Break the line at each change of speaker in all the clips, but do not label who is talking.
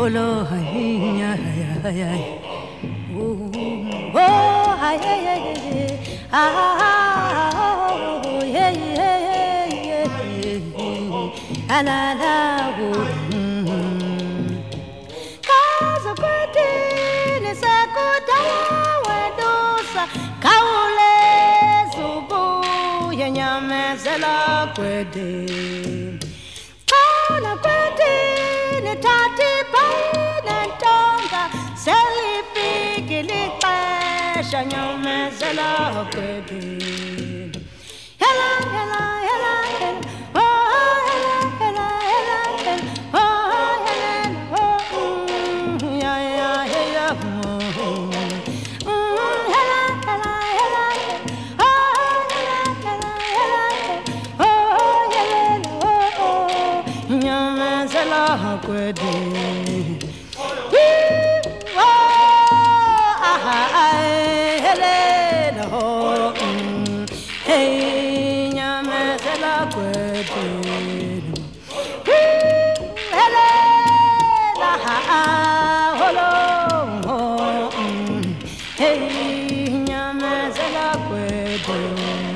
Holo, hi, oh, hi, yeah, yeah, la, la, Casa Quentin is a good wedosa, Kaule, Subu, Yanyamazela, Quentin. Kala Quentin, Tati, Pain, and Tonga, Sally Piggy, Shanyamazela, Quentin. Hella, hella, hella, hella, oh, hella, hella, hella, hella, oh, hella, oh, yeah, yeah, yeah, hella, hella, hella, oh, hella, hella, hella, oh, hella, oh, Nyamazela, Quedi. Oh, ah, hella, oh, hey, Nyamazela, Quedi. Hella, holo, hey, Nyamazela, Quedi.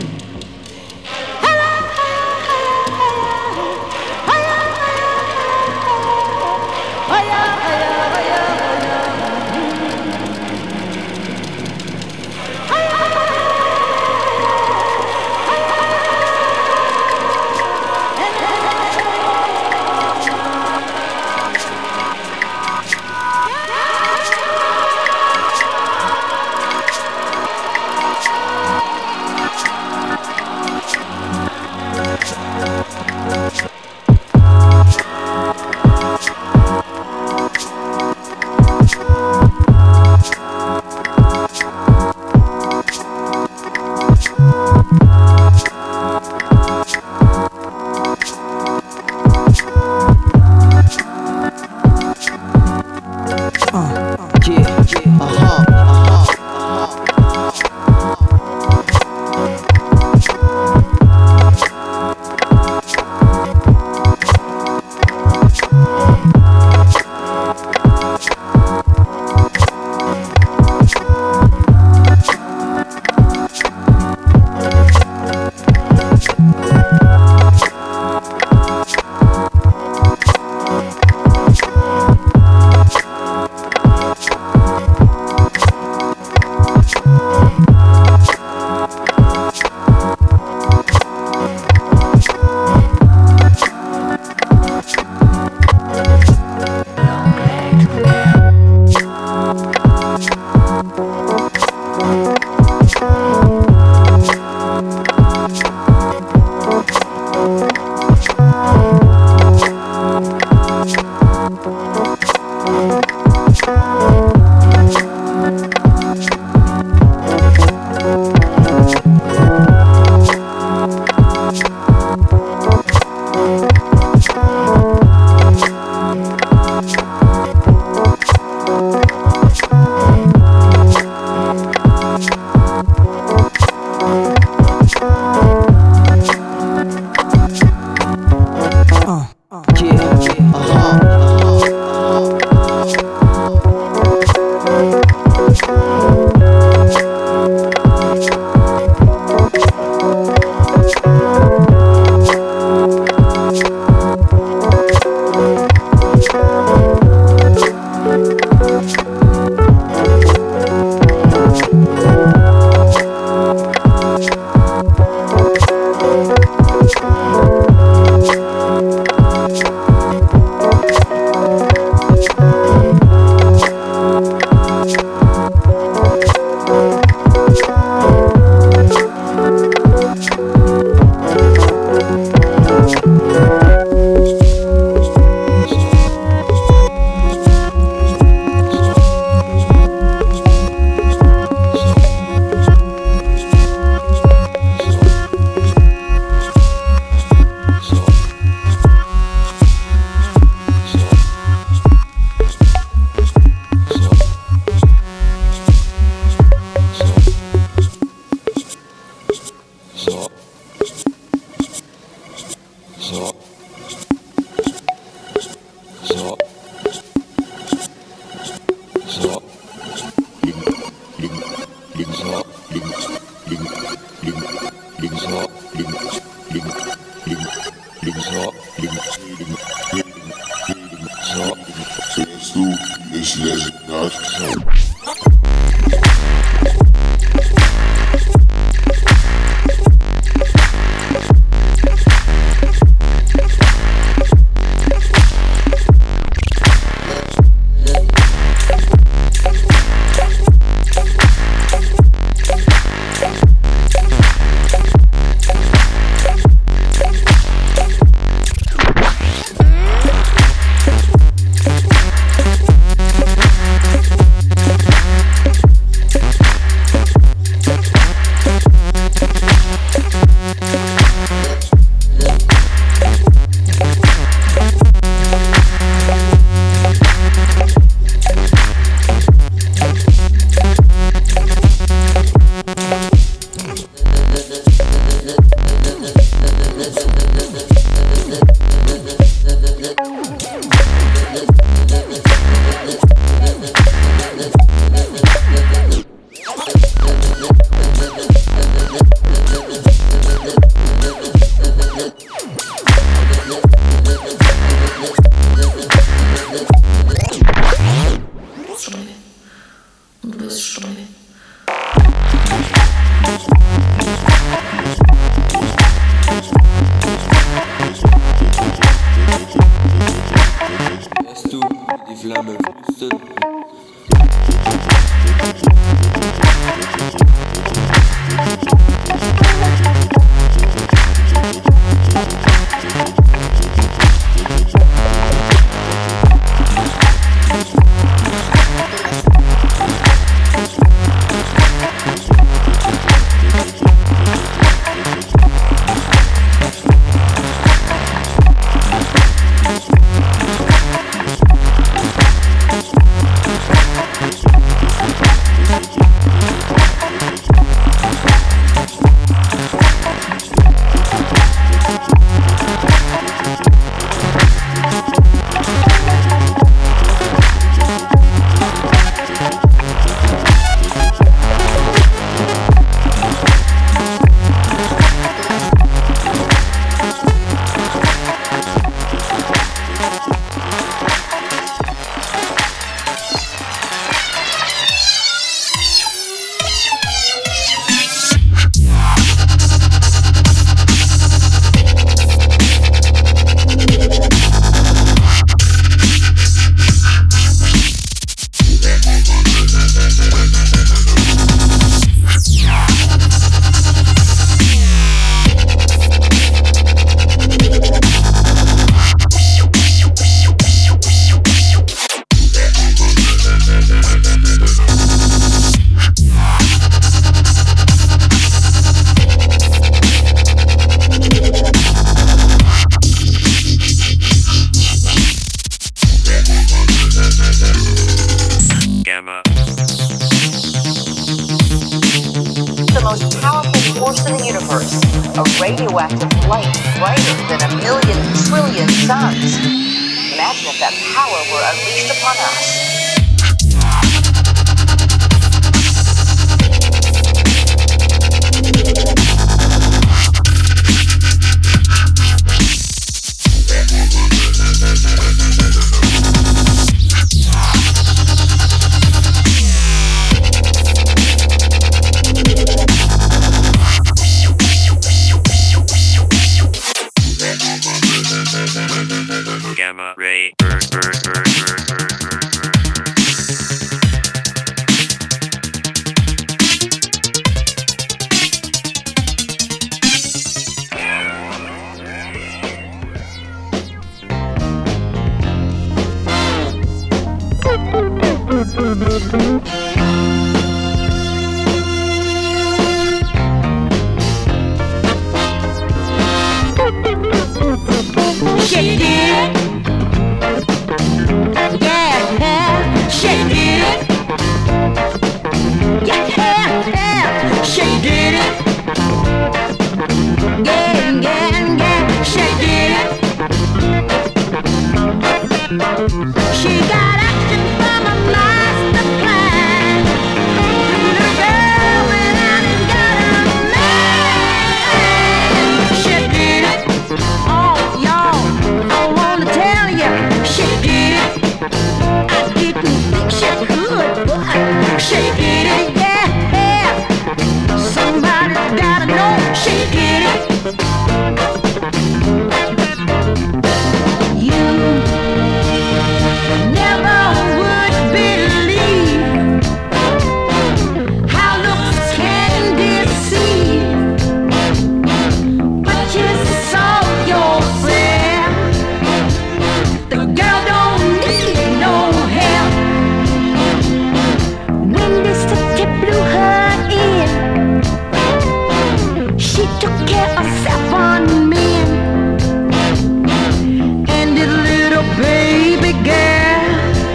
force in the universe, a radioactive light brighter than 1,000,000 trillion suns. Imagine if that power were unleashed upon us.
Gamma ray.
Shake it, yeah, shake it, yeah, shake it, yeah, shake it. She got action from a master plan. Little girl went out and got a man. Shake it, oh y'all, I wanna tell ya, shake it. I didn't think she could, but shake it, yeah. Somebody's gotta know, shake it. You never would believe how looks can deceive, but you saw yourself. The girl don't need no help. When this city blew her in, she took care of 7 men. And this little baby girl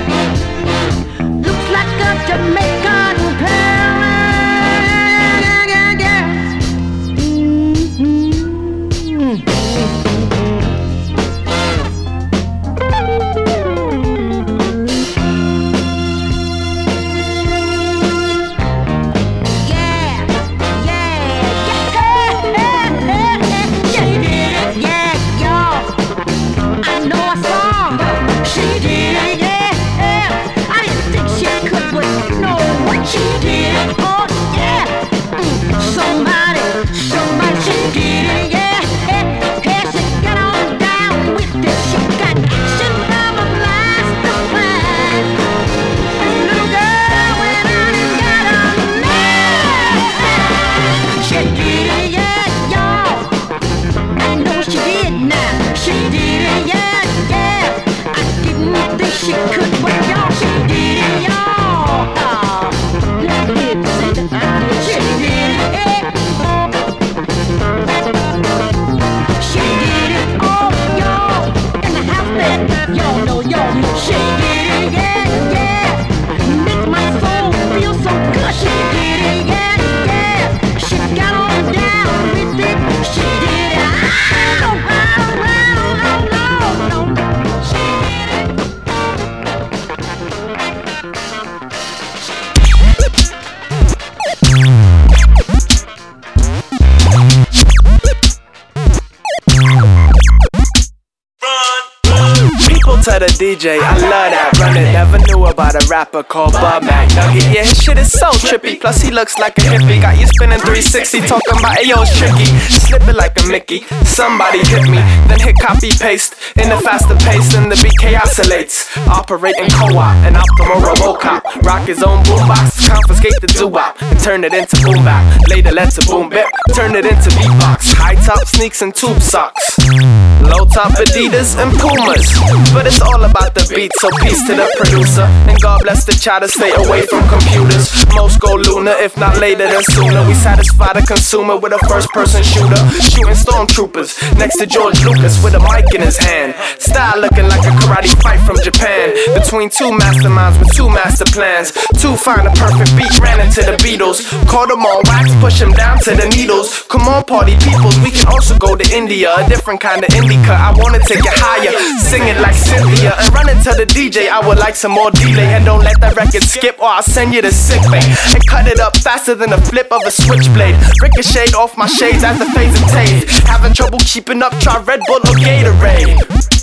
looks like a Jamaican pearl. She did, oh yeah. Somebody she did it, yeah. She got on down with it. She got action from a master plan. Little girl went out and got a man. She did it, yeah, y'all. I know she did now. She did it, yeah. I didn't think she could, but y'all, she did it, y'all. She did it, she did it, oh, y'all, in the house that y'all know, y'all. She did it, yeah. Makes my soul feel so good. She did it, yeah. She got on down with it. She did it, no. She did it.
To the DJ, I love that. Run it, never knew about a rapper called Bud Mac Nugget. Yeah, his shit is so trippy. Plus he looks like a hippie. Got you spinning 360, talking about ayo, it's tricky. Slip it like a Mickey. Somebody hit me, then hit copy paste in the faster pace, and the BK oscillates. Operating co-op and Optimal Robocop. Rock his own boombox, confiscate the doo-wop and turn it into boom bap. Later let's a boom bip, turn it into beatbox. High top sneaks and tube socks. Low top Adidas and Pumas. But it's all about the beat, so peace to the producer. And God bless the child to stay away from computers. Most go lunar, if not later then sooner. We satisfy the consumer with a first-person shooter. Shooting stormtroopers next to George Lucas with a mic in his hand. Style looking like a karate fight from Japan. Between two masterminds with two master plans. Two find a perfect beat, ran into the Beatles. Caught them on wax, push them down to the needles. equals. Come on, party people, we can also go to India. A different kind of indica, I wanna take it higher. Sing it like Cynthia and run it to the DJ. I would like some more delay. And don't let that record skip or I'll send you to sick bay. And cut it up faster than the flip of a switchblade. Ricochet off my shades as the phase of taste. Having trouble keeping up, try Red Bull or Gatorade.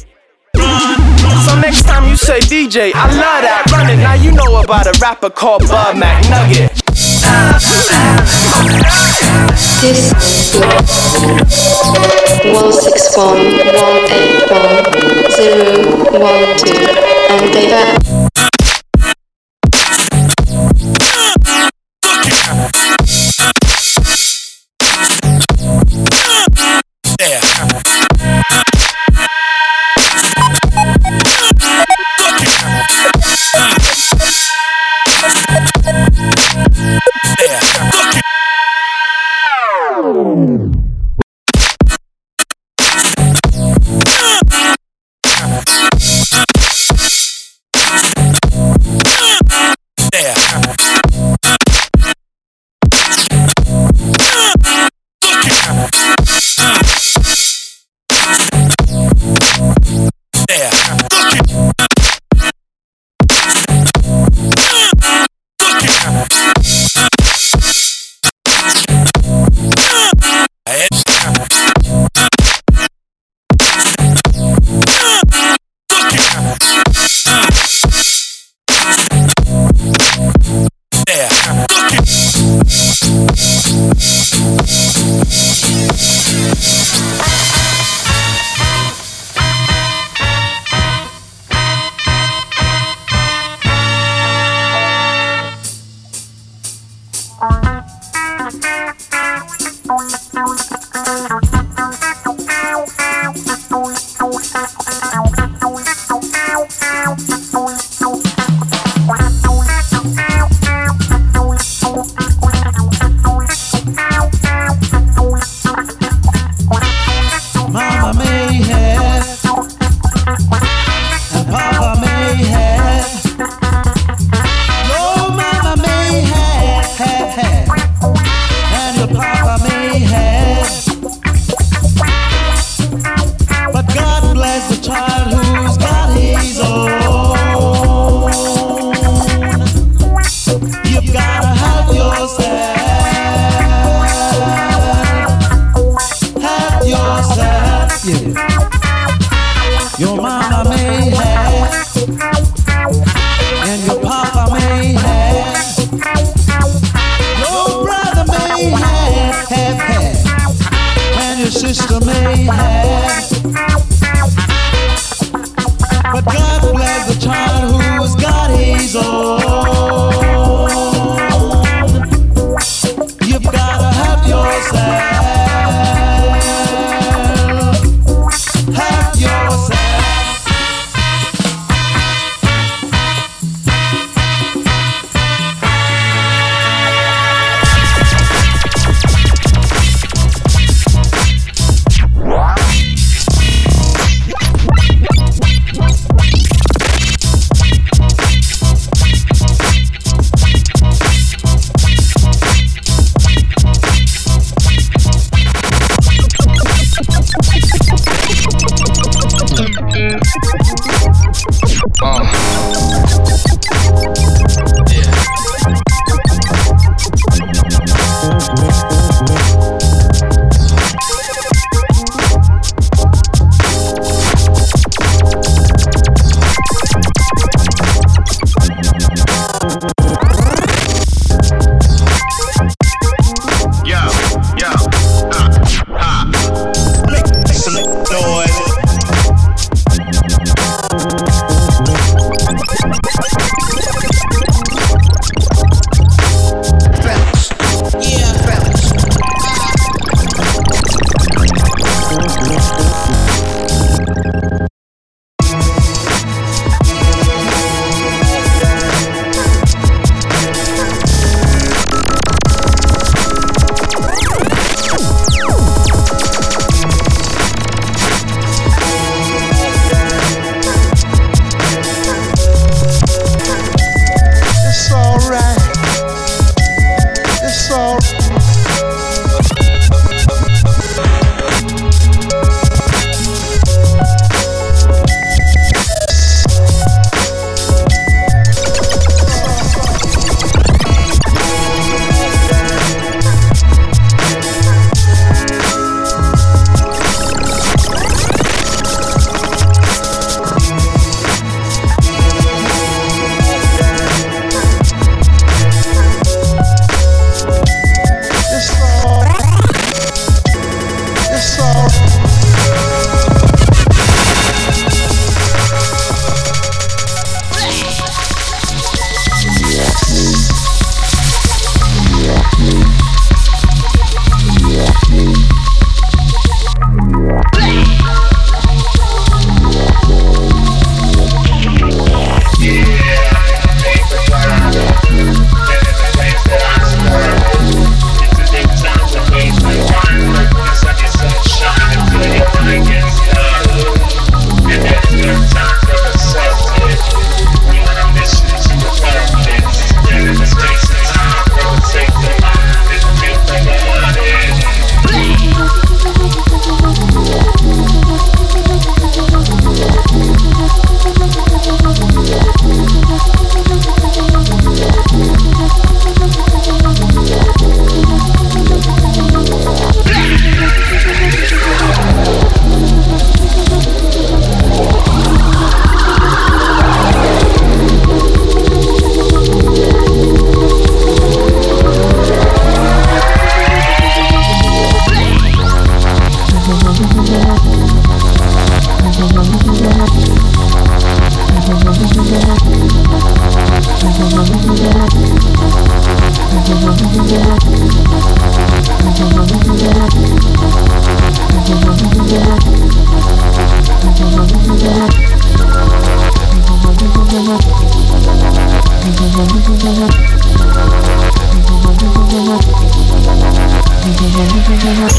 So next time you say DJ, I love that, run it. Now you know about a rapper called Bud Mac Nugget.
This is 161-181-012 and they are
and your papa may have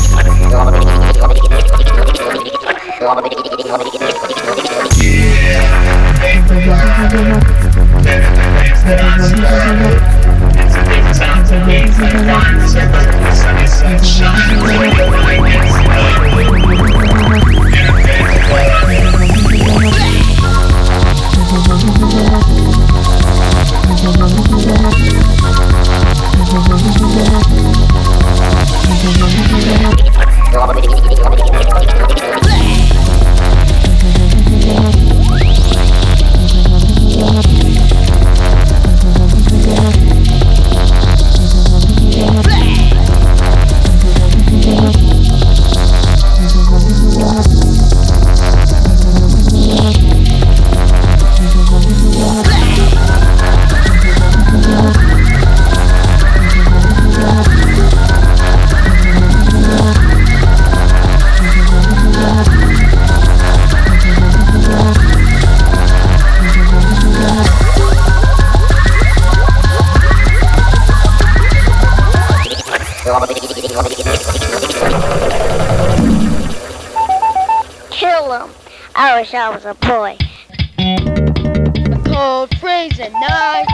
Kill him. I wish I was a boy.
A cold freezing night.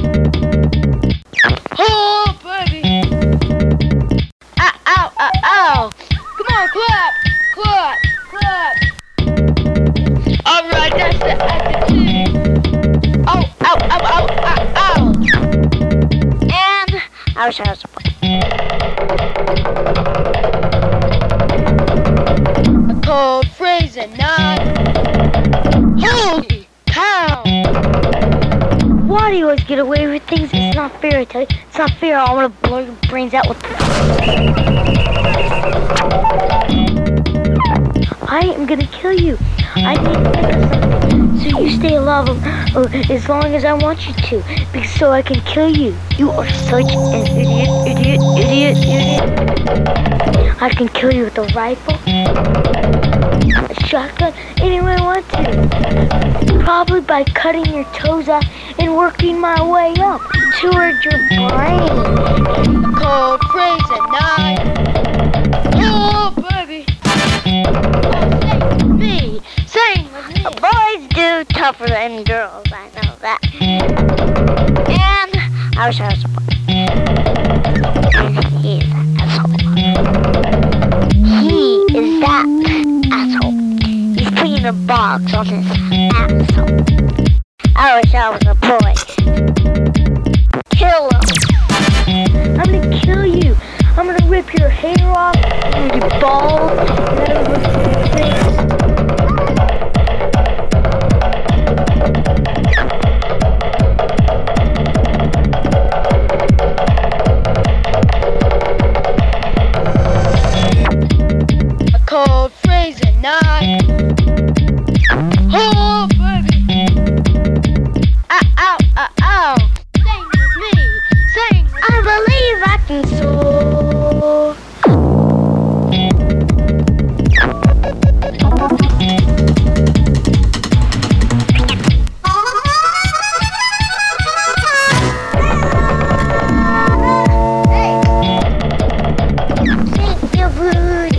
Oh, baby. Ow, ow, ow, ow. Come on, clap, clap, clap. All right, that's the attitude. Oh, ow, ow, ow, ow, ow.
And I wish I was a boy.
A cold freezing night. Holy cow.
Why do you always get away with things? It's not fair, I tell you. It's not fair. I want to blow your brains out with... I am gonna kill you. I need to think of something so you stay alive as long as I want you to, because so I can kill you. You are such an idiot. I can kill you with a rifle, a shotgun, any way I want to. Probably by cutting your toes off and working my way up toward your brain.
A cold freezing night. Oh, baby. Sing with me.
Boys do tougher than girls, I know that. And I wish I was a boy. And he's an asshole. He is that asshole. He's putting a box on his asshole. I wish I was a boy. Kill him. I'm gonna kill you. I'm gonna rip your hair off, and your balls, and then I'm gonna rip your face.
A cold freezing night. Oh, baby. Ow, ow, ow, ow. Sing with me. Sing.
I believe I can soar. Shake your booty.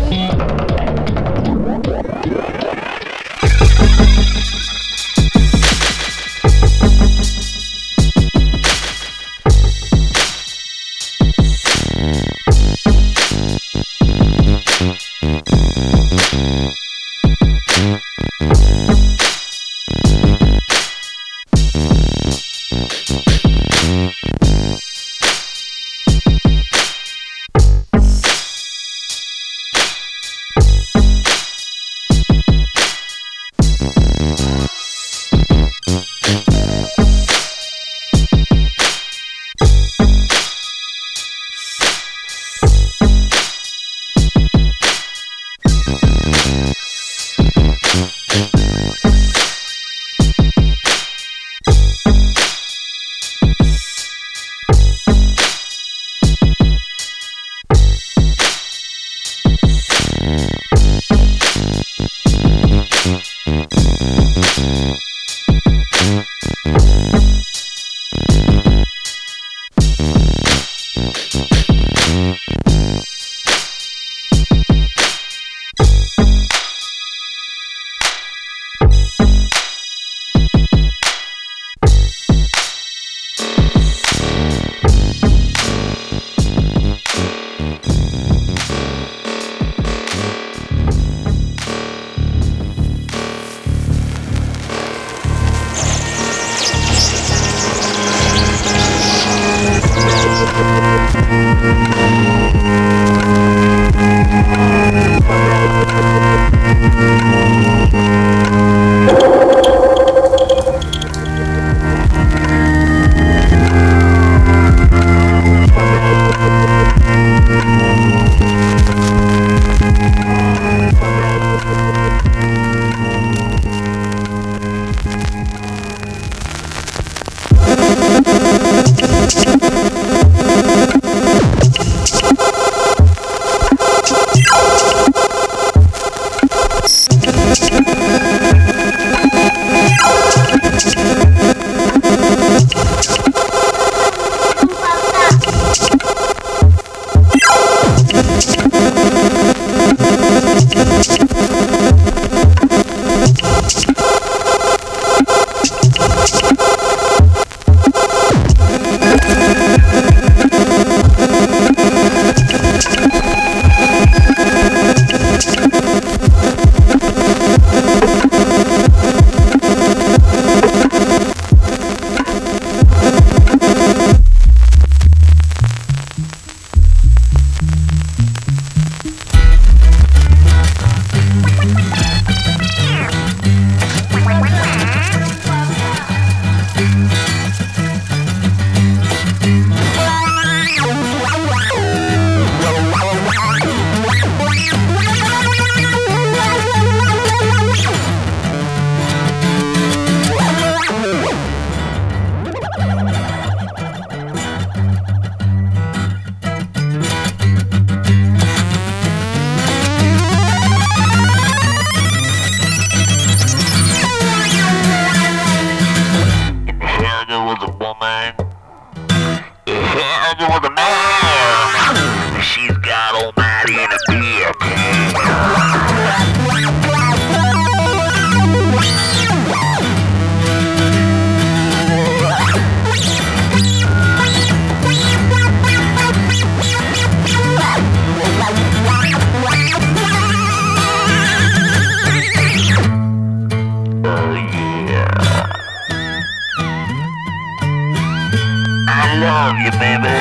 I love you, baby.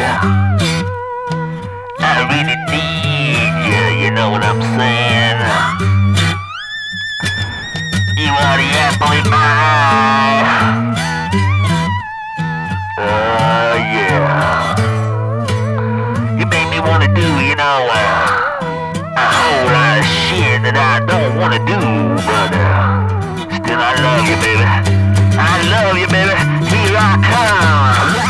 I really need you, you know what I'm saying? You are the apple in my eye. Oh, yeah. You make me wanna do, you know, a whole lot of shit that I don't wanna do, but still I love you, baby. I love you, baby. Here I come.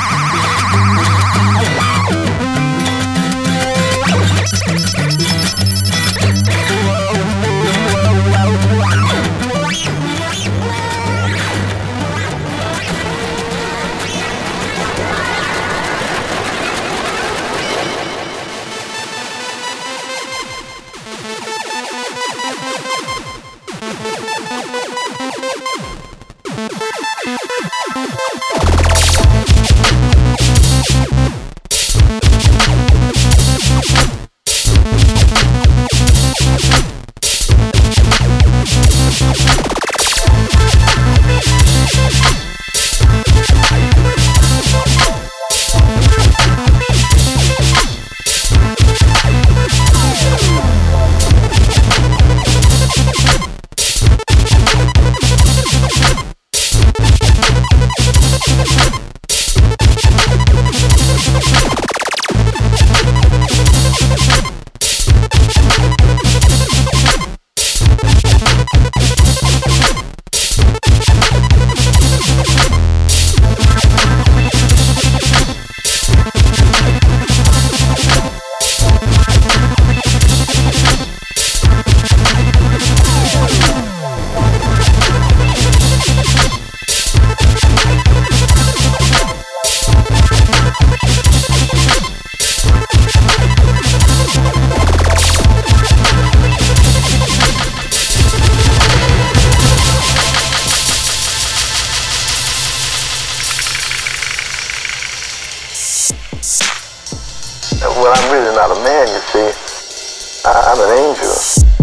Well, I'm really not a man, you see. I'm an angel.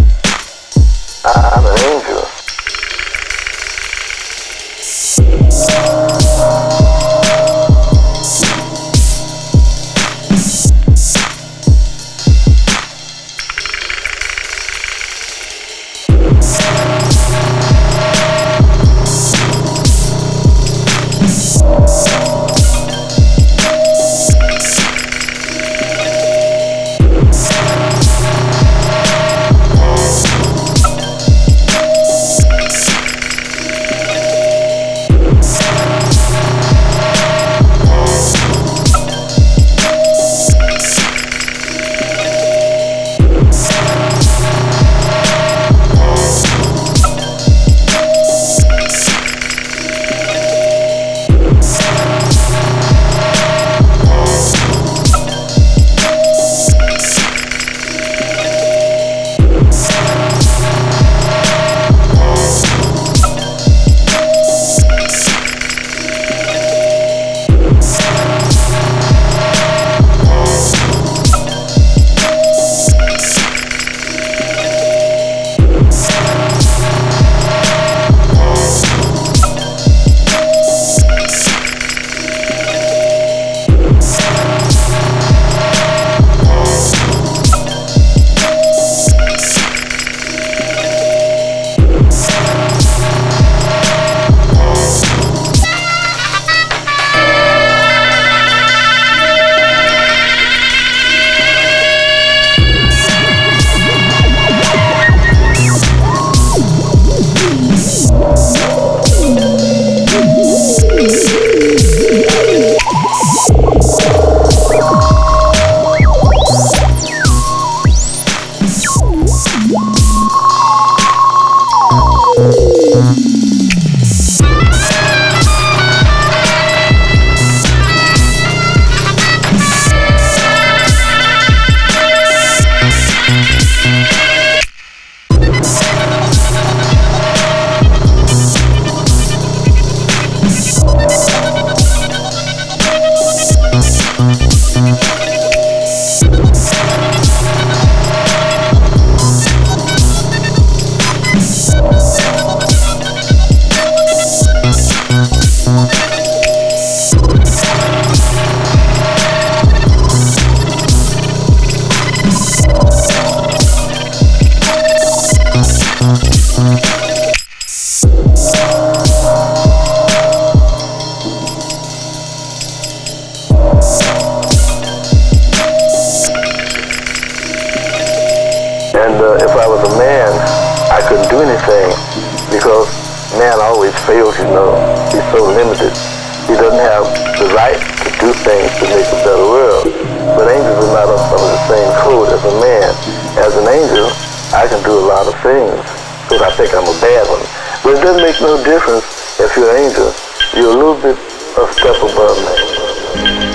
I'm an angel. And if I was a man, I couldn't do anything because man always fails, you know. He's so limited. He doesn't have the right to do things to make a better world. But angels are not under the same code as a man. As an angel, I can do a lot of things because I think I'm a bad one. But it doesn't make no difference if you're an angel. You're a little bit a step above me.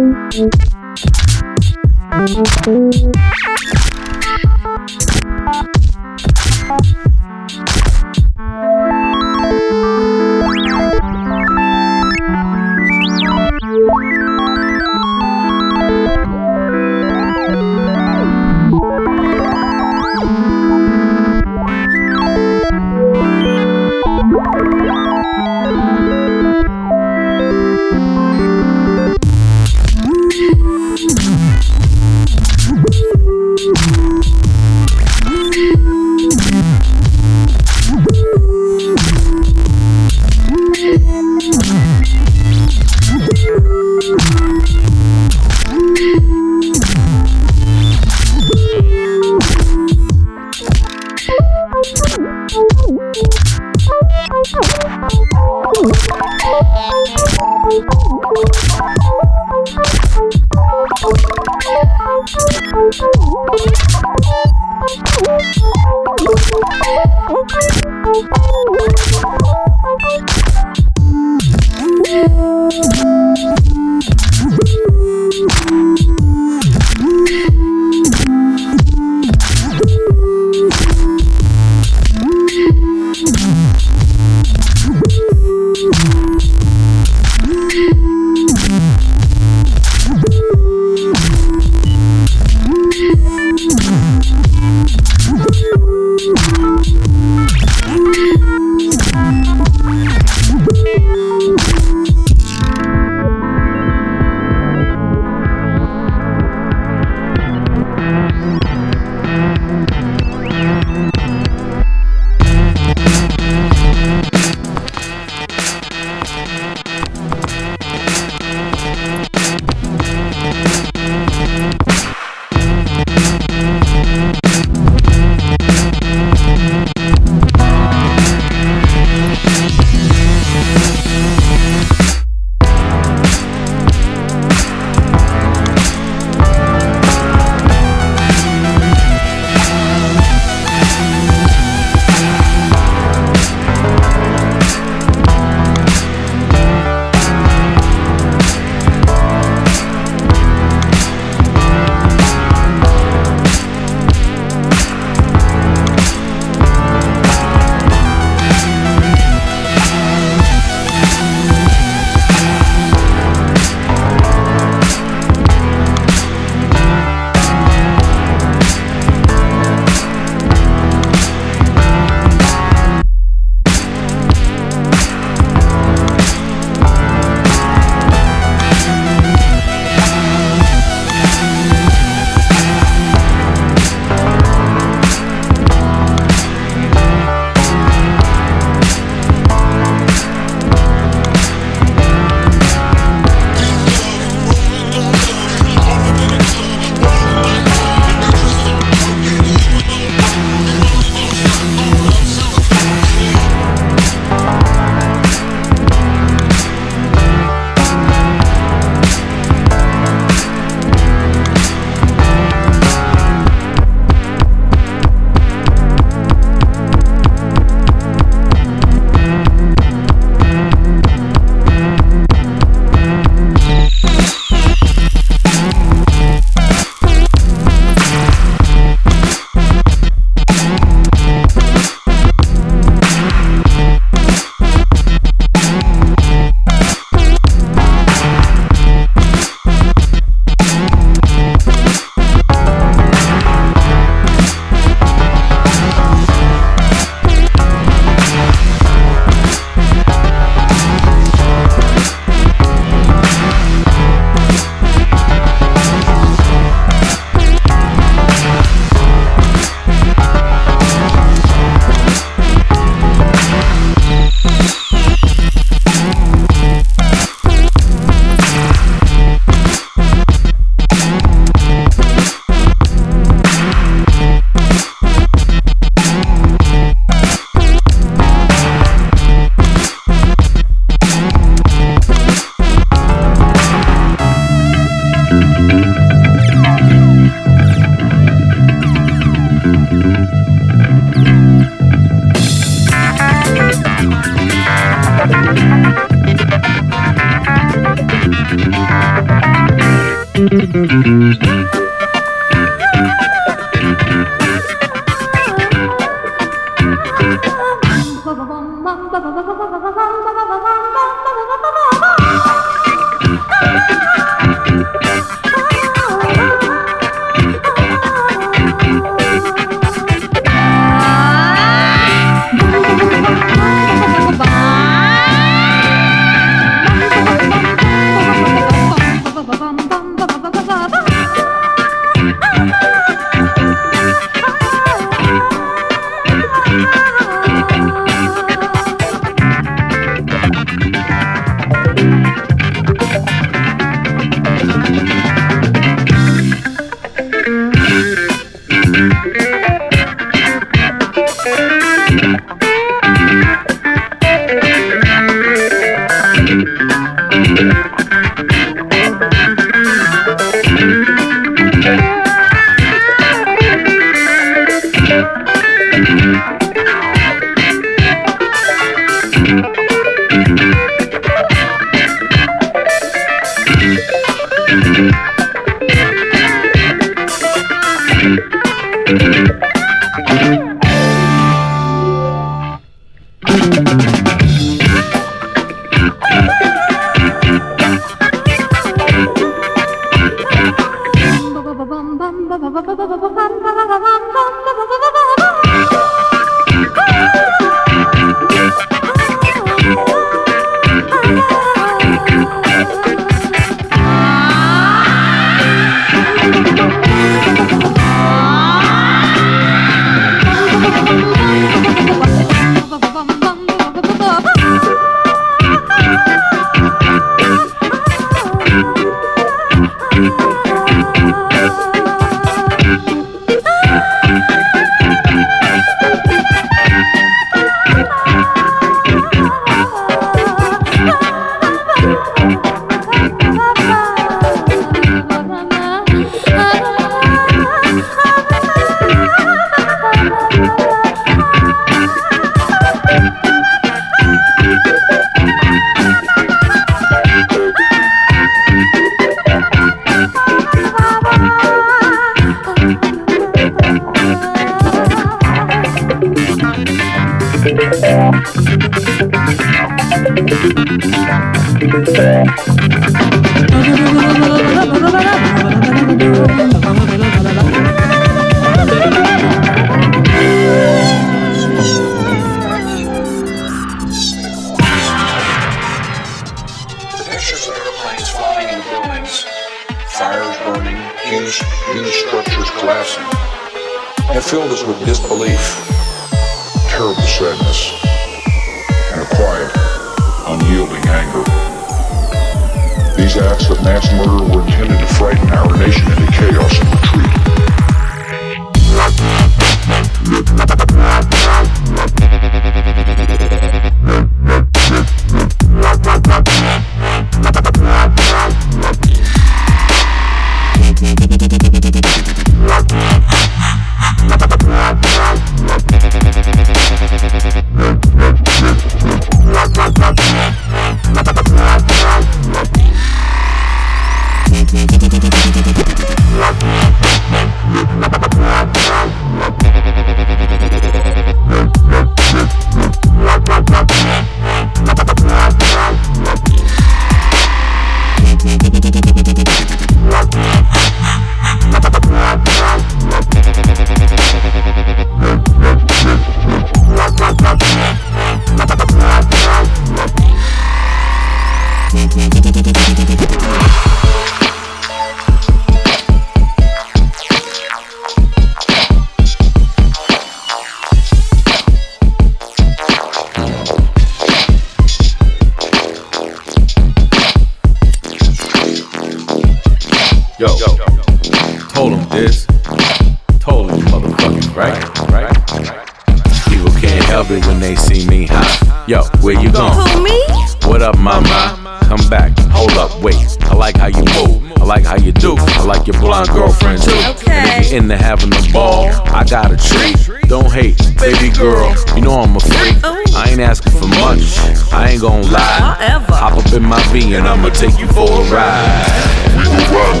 And I'ma take you for a ride. We will run.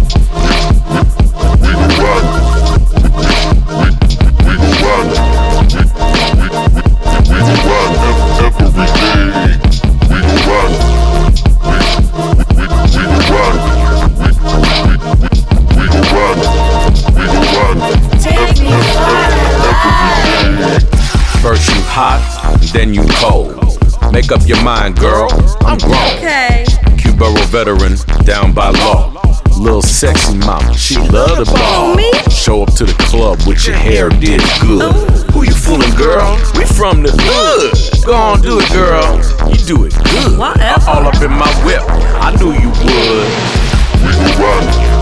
We will run. We will run. We will run. then you cold. Make up your mind, girl, I'm grown.
Okay.
Q-Borough veteran, down by law. Little sexy mama, she love the ball. Show up to the club with your hair did good. Who you fooling, girl? We from the hood. Go on, do it, girl. You do it good.
Whatever.
All up in my whip, I knew you would.
We can run.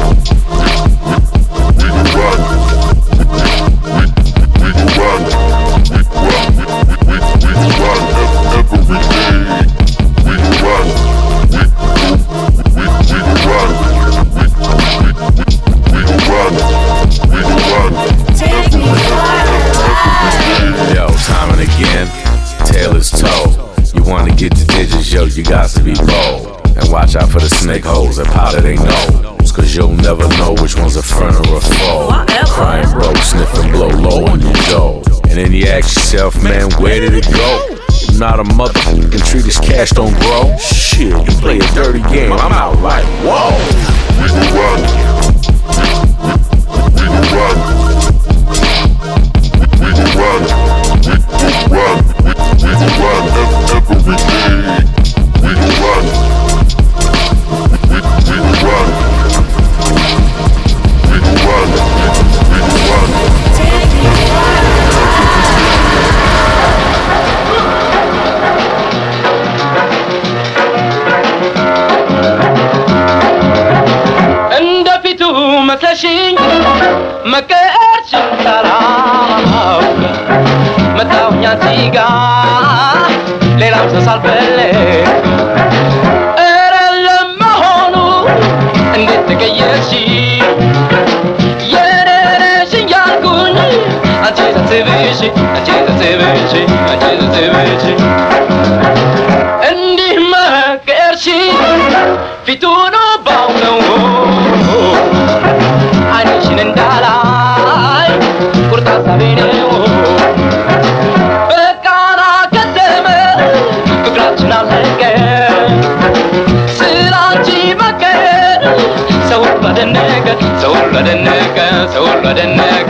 We can run. We can run. We can run every day. We can run. We can run. We can run. We can run.
Take me
Yo, time and again, tail is toe. You wanna get the digits, yo, you got to be bold. And watch out for the snake holes that powder they nose. Cause you'll never know which one's a friend or a foe. Crying broke, sniffing blow low on your jaw. And then you ask yourself, man, where did it go? I'm not a motherfucking treat this cash don't grow. Shit, you play a dirty game, I'm out like, whoa.
We can run. We can run. We can run. We can run. We can run every day. We can run. We can run. We can run. We can run.
እንደፊቱ መስለሽኝ መቀየርሽን ሳላውቅ መጣሁኝ አንቺ ጋር ሌላም ሰው ሳልፈልግ ኧረ ለመሆኑ እንዴት ተቀየርሽ የኔ ነሽ እያልኩኝ አንቺ ሳስብሽ አንቺ ሳስብሽ አንቺ ሳስብሽ እንዲህ መቀየርሽ ፊቱን ባውነው ዓይንሽን እንዳላይ ቁርጥ ሀሳቤ ነው በቃና ከተመ ፍቅራችን አለቀ ስላንቺ መቀየር ሰው ሁሉ አደነቀ ሰው ሁሉ አደነቀ ሰው ሁሉ አደነቀ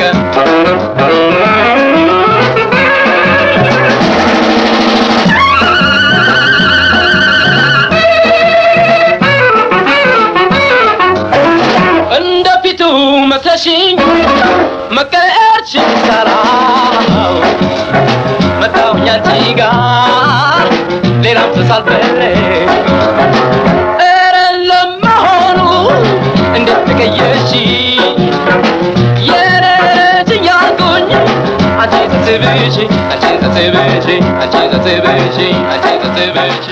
እንደፊቱ መስለሽኝ መቀየርሽን ሳላውቅ መጣሁኝ አንቺ ጋር ሌላም ሰው ሳልፈልግ ኧረ ለመሆኑ እንዴት ተቀየርሽ የኔ ነሽ እያልኩኝ አንቺ ሳስብሽ አንቺ ሳስብሽ አንቺ ሳስብሽ አንቺ ሳስብሽ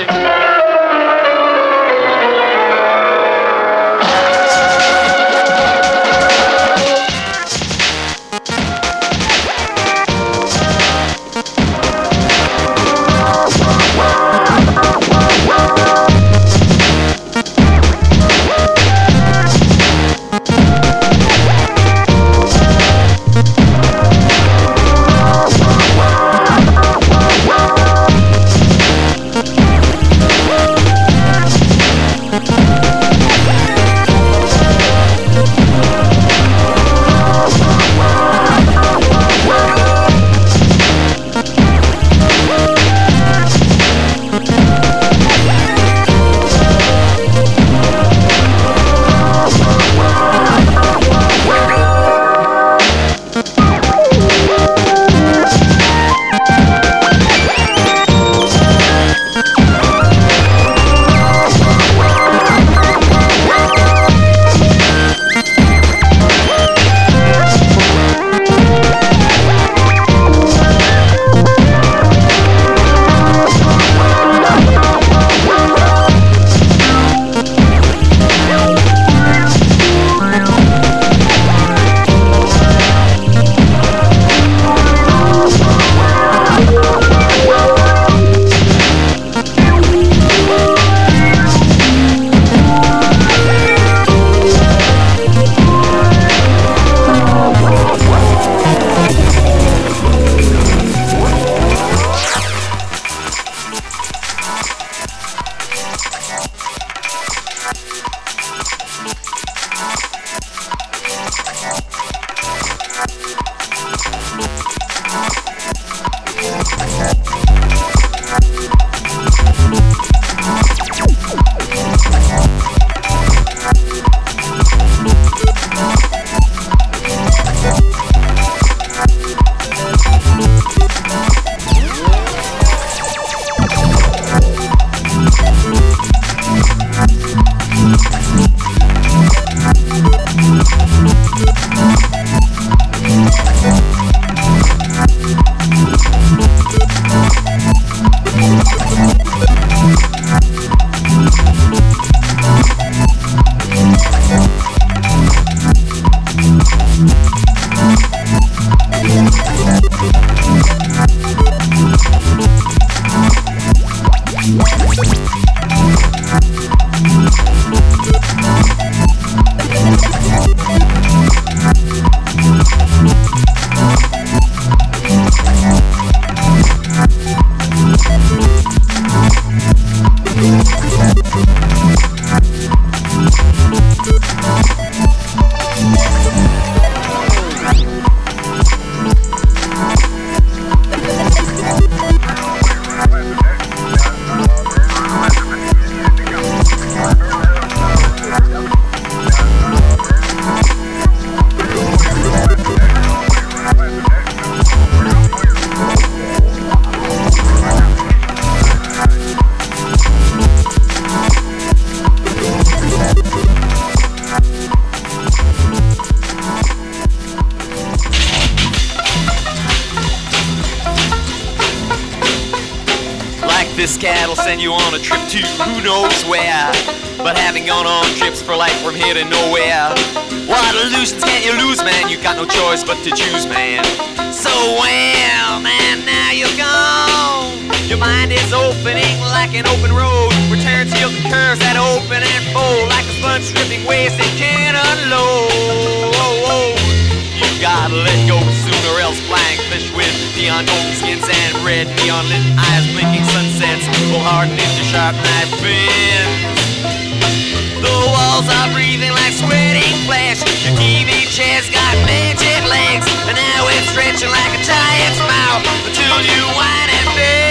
this cat will send you on a trip to who knows where. But having gone on trips for life from here to nowhere, what illusions can't you lose, man? You got no choice but to choose, man. So well, man, now you're gone. Your mind is opening like an open road. Returns, yield, and curves that open and fold like a sponge stripping waste it can't unload. You gotta let go soon or else flying fish with neon golden skins and red neon lit eyes blinking sunsets will harden into sharp knife fins. The walls are breathing like sweating flesh. Your TV chair's got magic legs, and now it's stretching like a giant's mouth until you whine and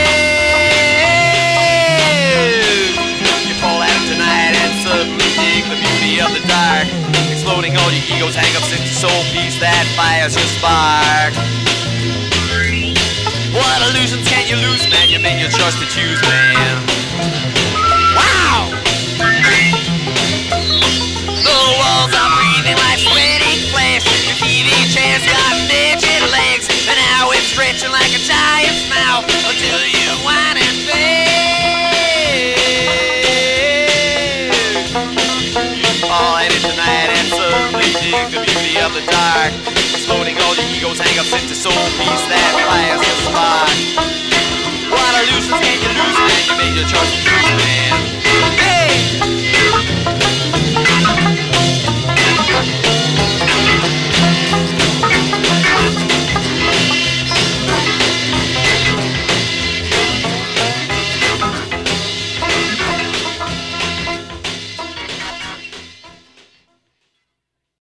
beg. You fall out tonight and suddenly dig the beauty of the dark. Exploding all your ego's hang-ups into soul peace that fires your spark. What illusions can't you lose, man? You made your choice to choose, man. Wow! The walls are breathing like sweating flesh. Your TV chair's got midget legs, and now it's stretching like a giant's mouth until you whine and beg. You fall in it tonight and suddenly dig the beauty of the dark. Exploding all your ego's hang-ups into soul peace that fires your spark. What illusions can you lose?